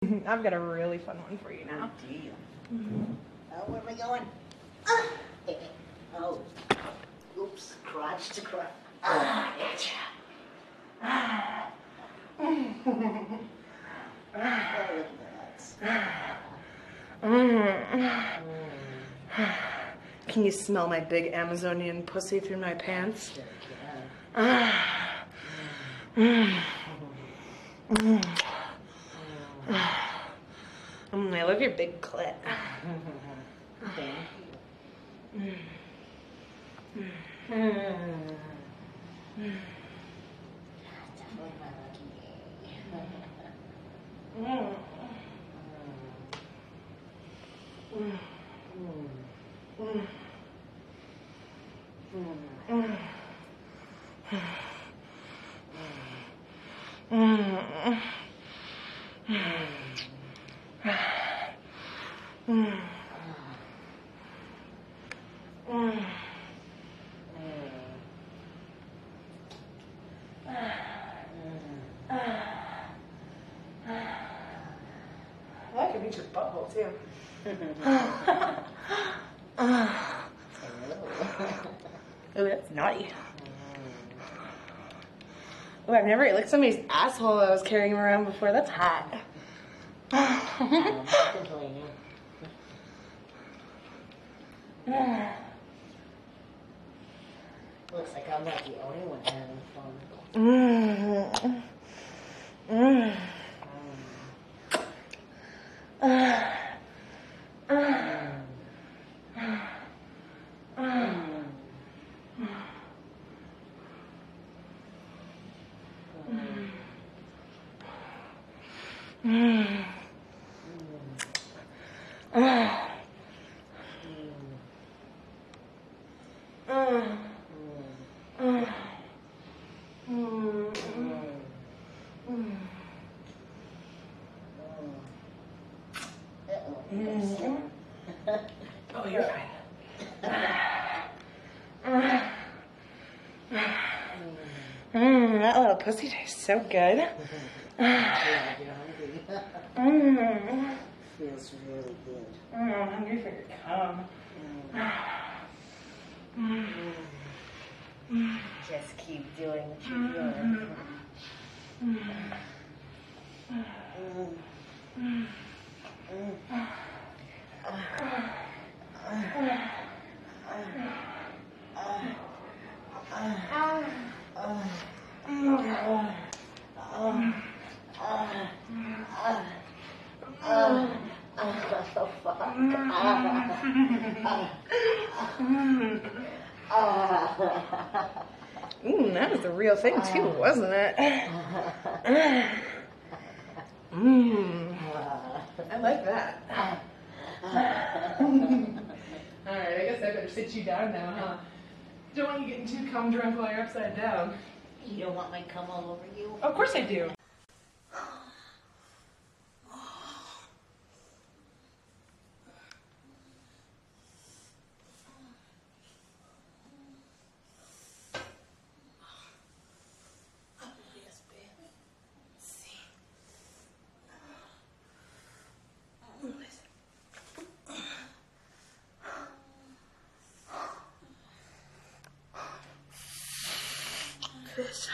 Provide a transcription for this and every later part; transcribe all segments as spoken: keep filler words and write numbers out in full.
I've got a really fun one for you now. Oh, deal. Mm-hmm. Oh, where am I going? Ah. Oh. Oops. Crotch to crotch. Ah, gotcha. Ah. Oh, look at that. Can you smell my big Amazonian pussy through my pants? Sure can. Mm. Mm. Mm, I love your big clit. Thank you. Mm. Mm. Mm. Definitely my lucky day. Mm. Mm. Mm. Mm. Mm. Mm. Mm. I can reach your butthole too. Oh, that's naughty. Oh, I've never licked somebody's asshole I was carrying around before. That's hot. um, complaining. Looks like I'm not the only one having fun. Mm. Mm. Mm. Mm. Mm. Mm. Mm. Mm. Mm. Oh, you're fine. Mm, that little pussy tastes so good. Yeah, you're hungry. Mm. Feels really good. Mm, I'm hungry for your cum. Mm. Mm. Just keep doing what you're doing. Mm. Mm. Mm. Mm. Mm, that was the real thing too, wasn't it? Mmm. I like that. Alright, I guess I better sit you down now, huh? Don't want you getting too cum drunk while you're upside down. You don't want my cum all over you? Of course I do. This.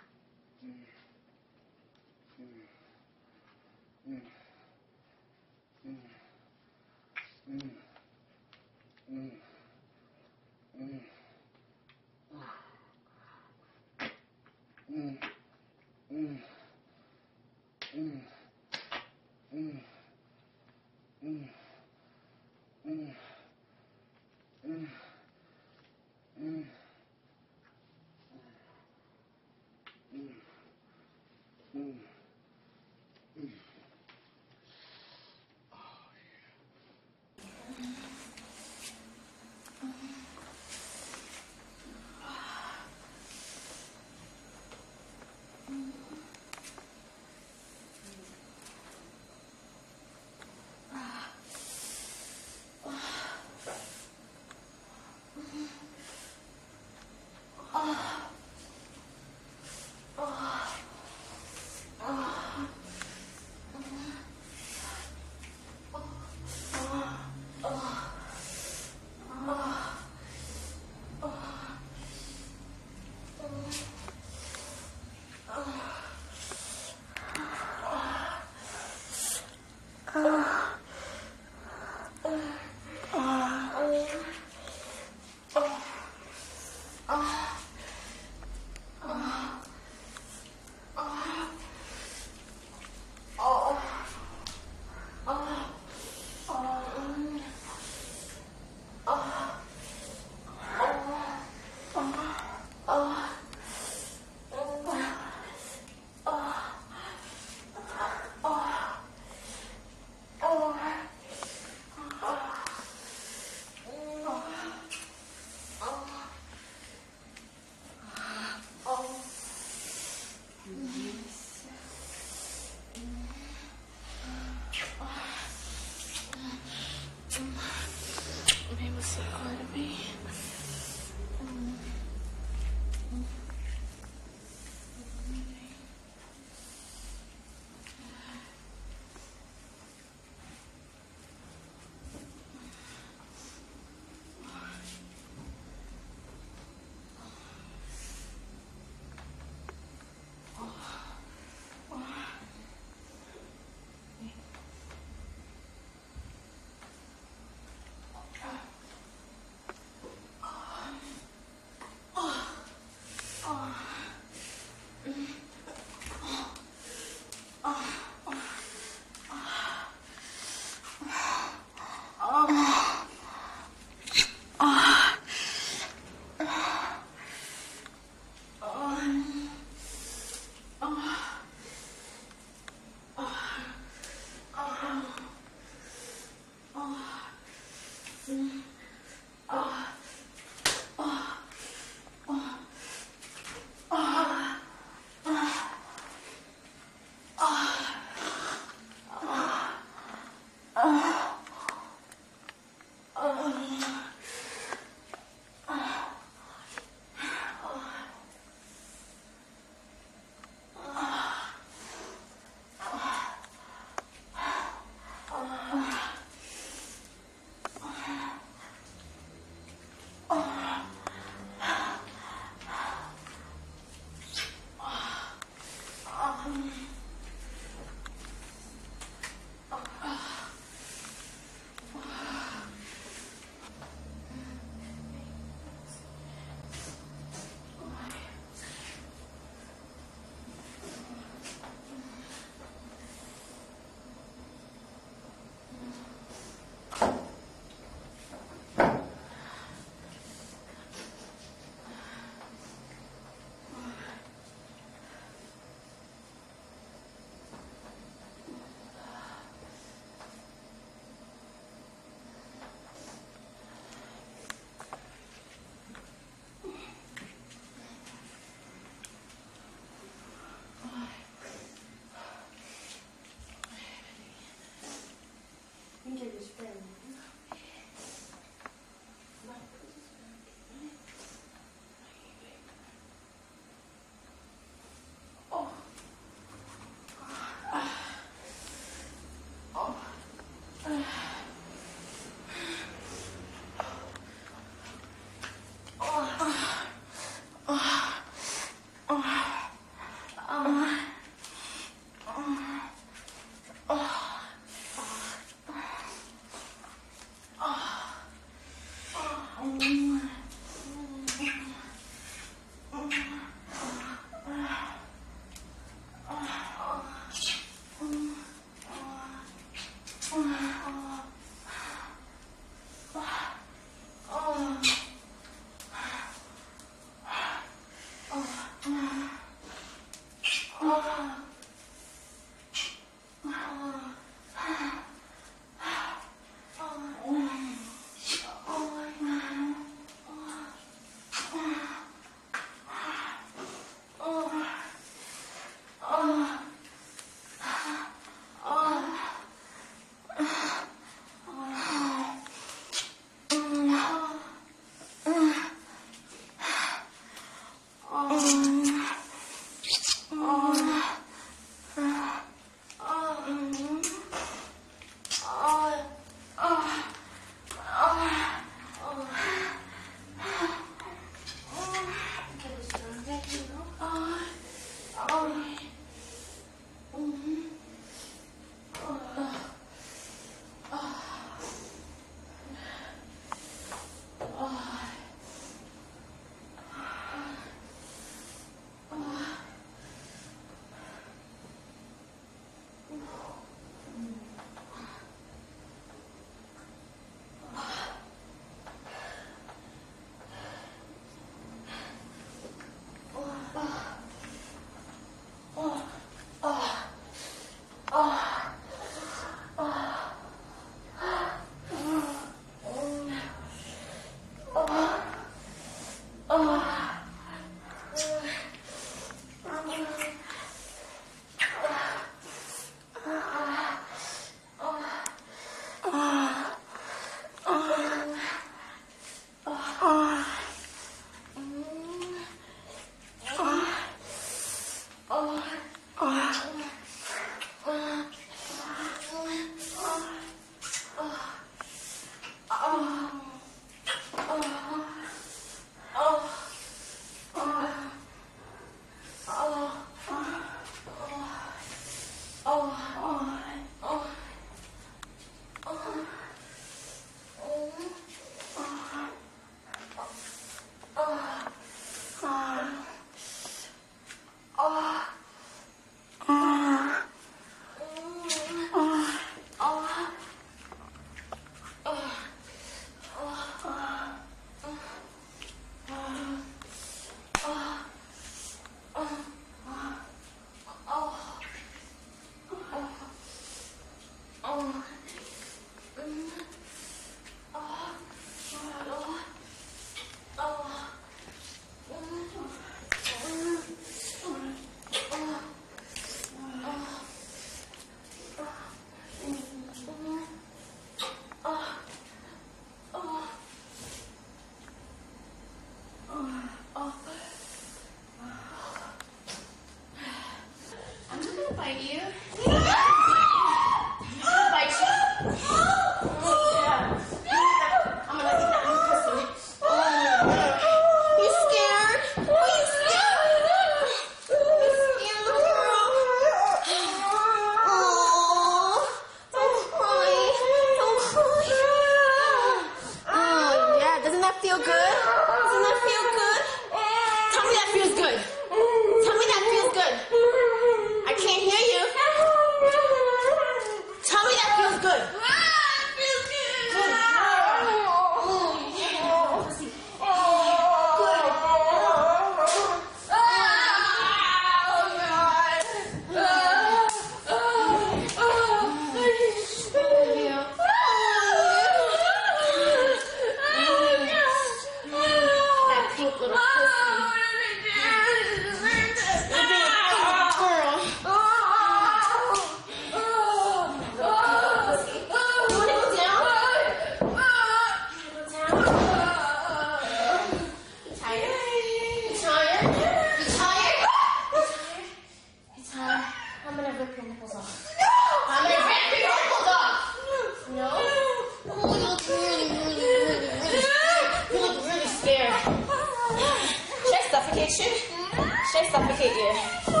Should I suffocate you?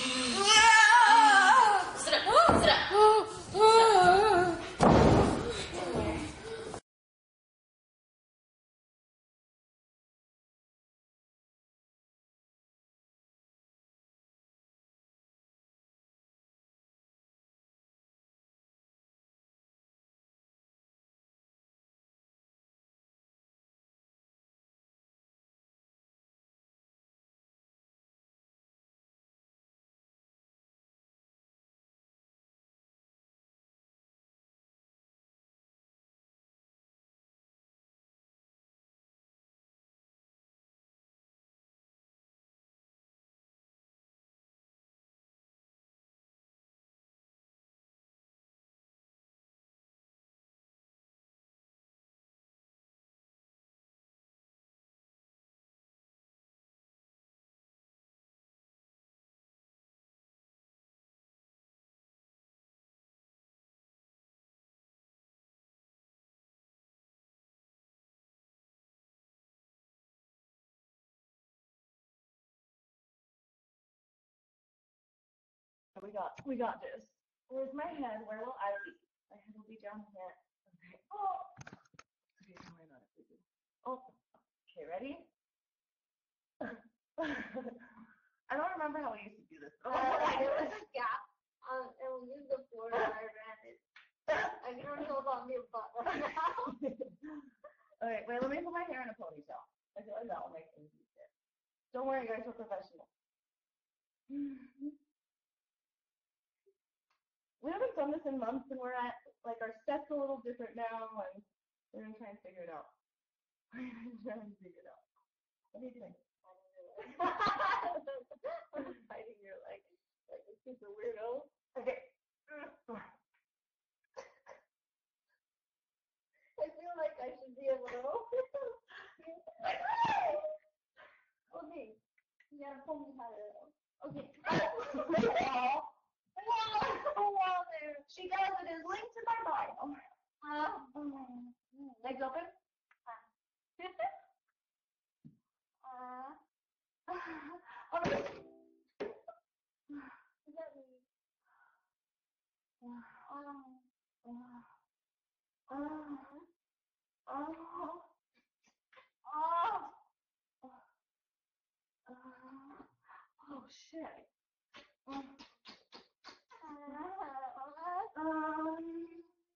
Sit up. Sit up. we got, we got this. Where's my head? Where will I be? My head will be down here. Okay. Oh. Okay, don't worry about it, baby. Oh. Okay, ready? I don't remember how we used to do this. Oh, Uh, yeah. Um, and we used the floor and I ran it. I can only hold on to your butt right now. Okay, wait, let me put my hair in a ponytail. I feel like that will make things easier. Don't worry, guys, we're professional. We haven't done this in months, and we're at, like, our set's a little different now, and we're gonna try and figure it out. We're gonna try and figure it out. What are you doing? I'm biting your leg like a super weirdo. Okay. I feel like I should be a little. Okay. You gotta pull me out of it. Okay. Wow, there. She does it is linked to my Bible. Uh, Legs open. uh, Okay. is that me? Um, Oh, oh, oh, oh, shit. Um, uh, um,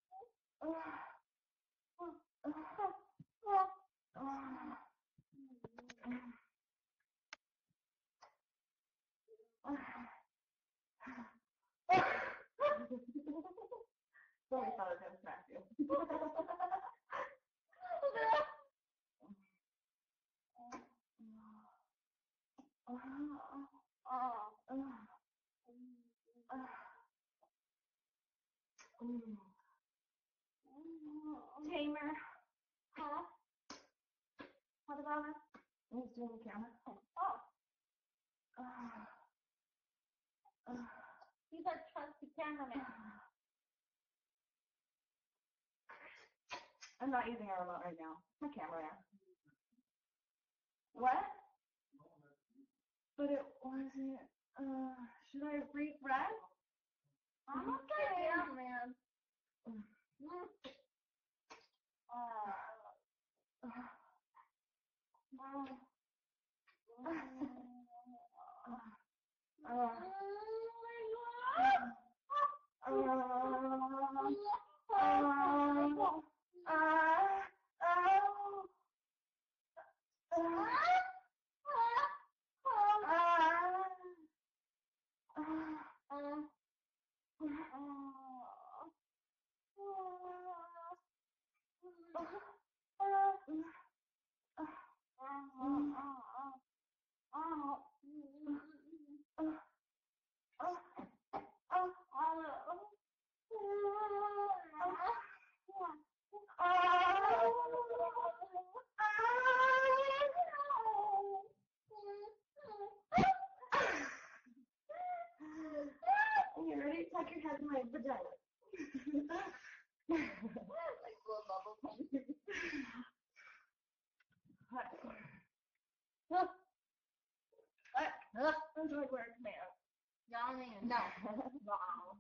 Somebody thought I was gonna smack you. Tamer. Huh? What about her? He's doing the camera. Oh, he's our trusty cameraman. I'm not using a remote right now. My camera. What? But it wasn't. Uh, should I refresh? I'm okay. Yeah, man. Mm. Mm. Uh, uh, uh, uh, You ready? Tuck your head in my vagina. Like blow bubble pump. What? What? That's like where it's made. Yummy. No. Wow.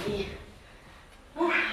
baby. All right.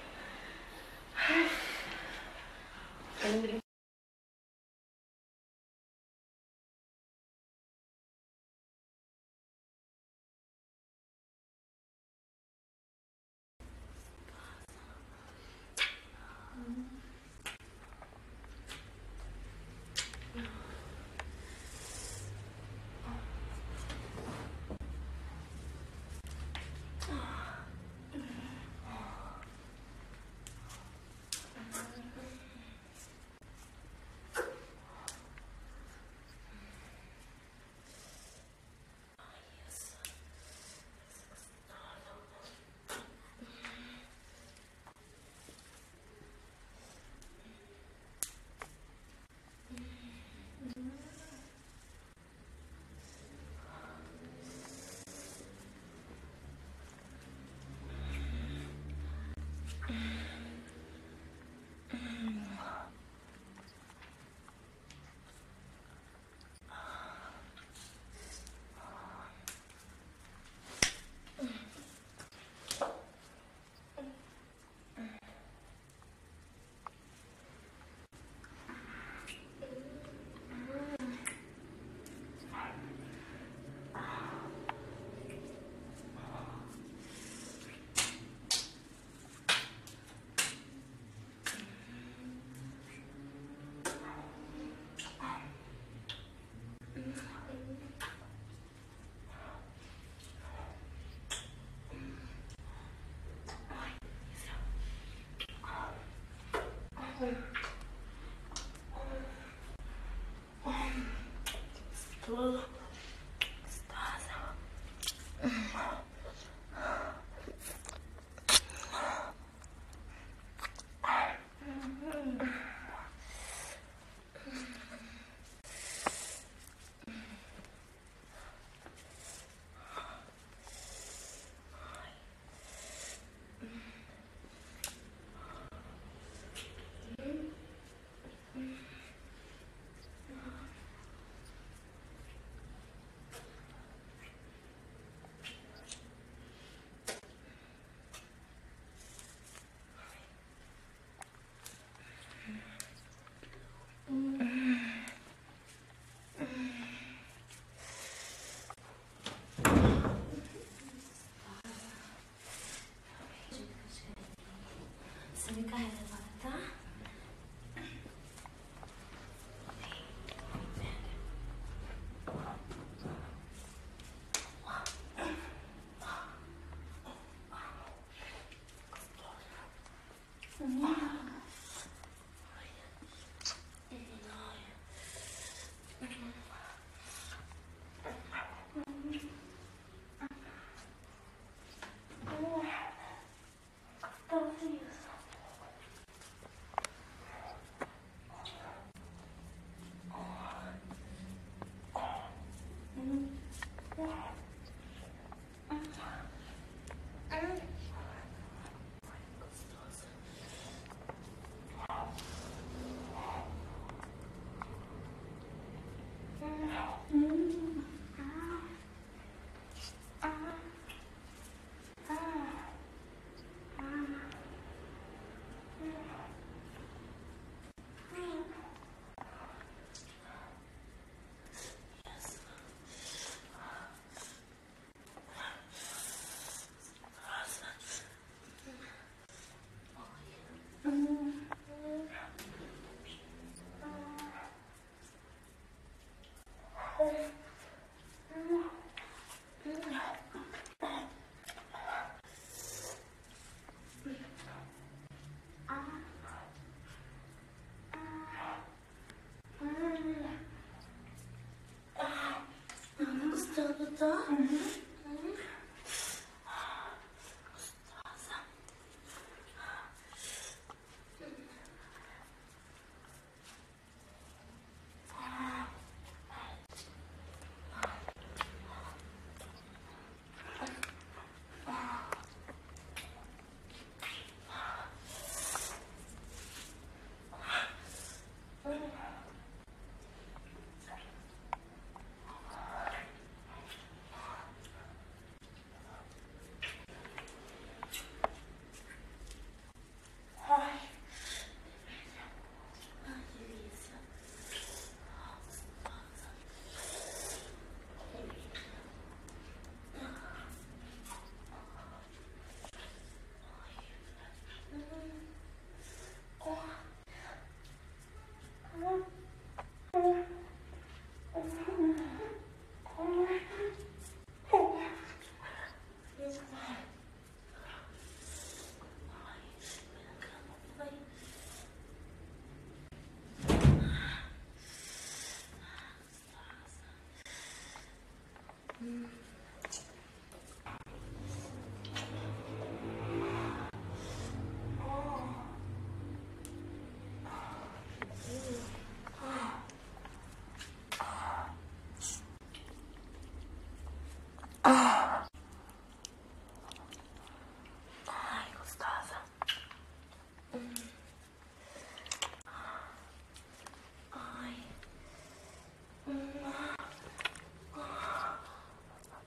Se me cae de levanta. Ai, gostosa. Ai.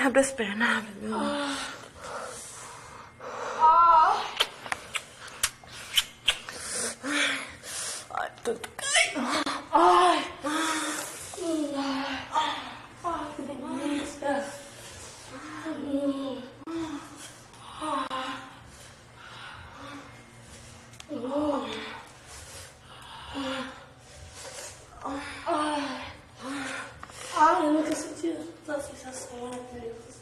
have to spare now. Ah, eu nunca senti essa sensação, né, Deus?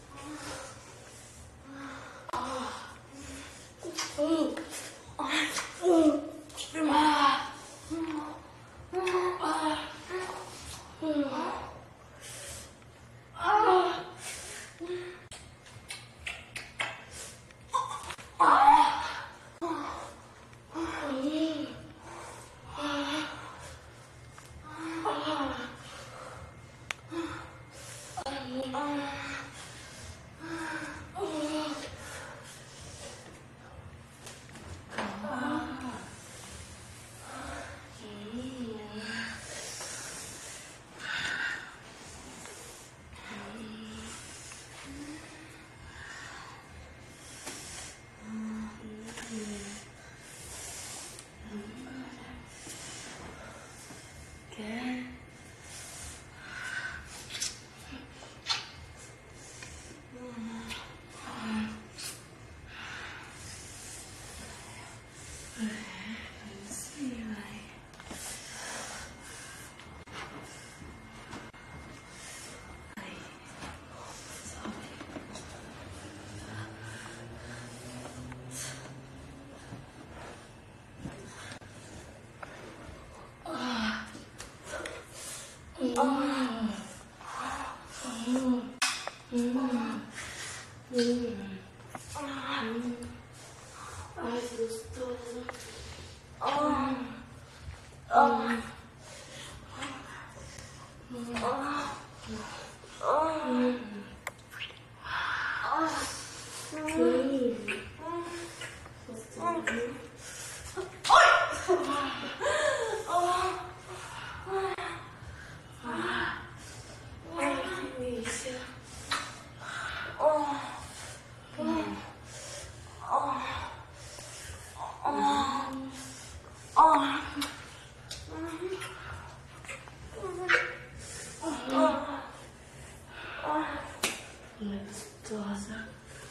Ai, que gostoso. Ah. Ah. Gostosa.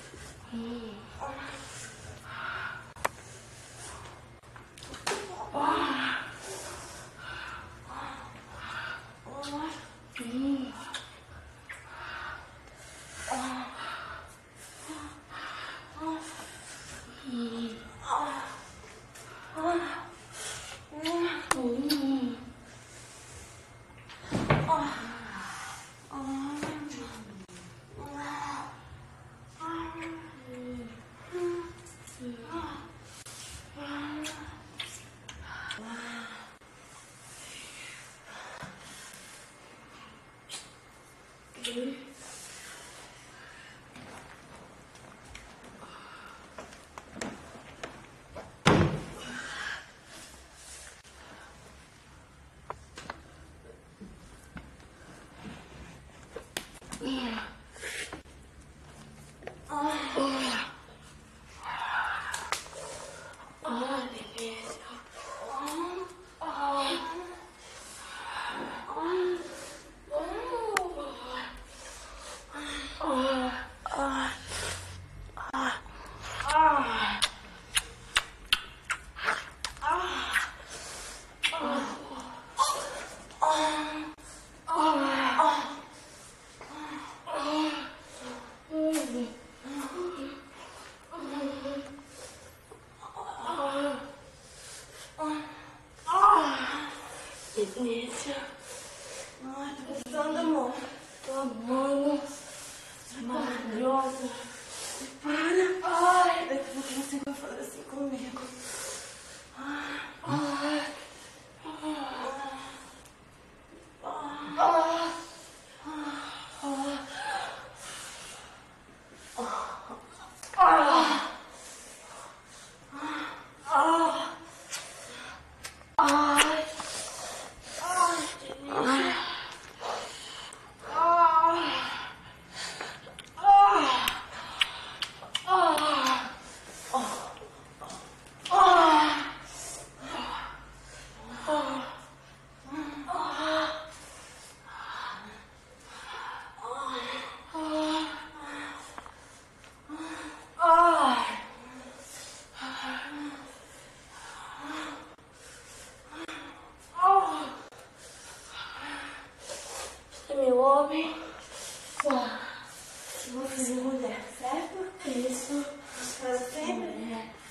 Delícia. Ai, tô gostando, amor. Tô amando. Você é maravilhosa. Para. Ai, daqui a pouco você vai fazer assim comigo. Ai, ai. homem. Vou fazer mulher, certo? Isso. Faz sempre.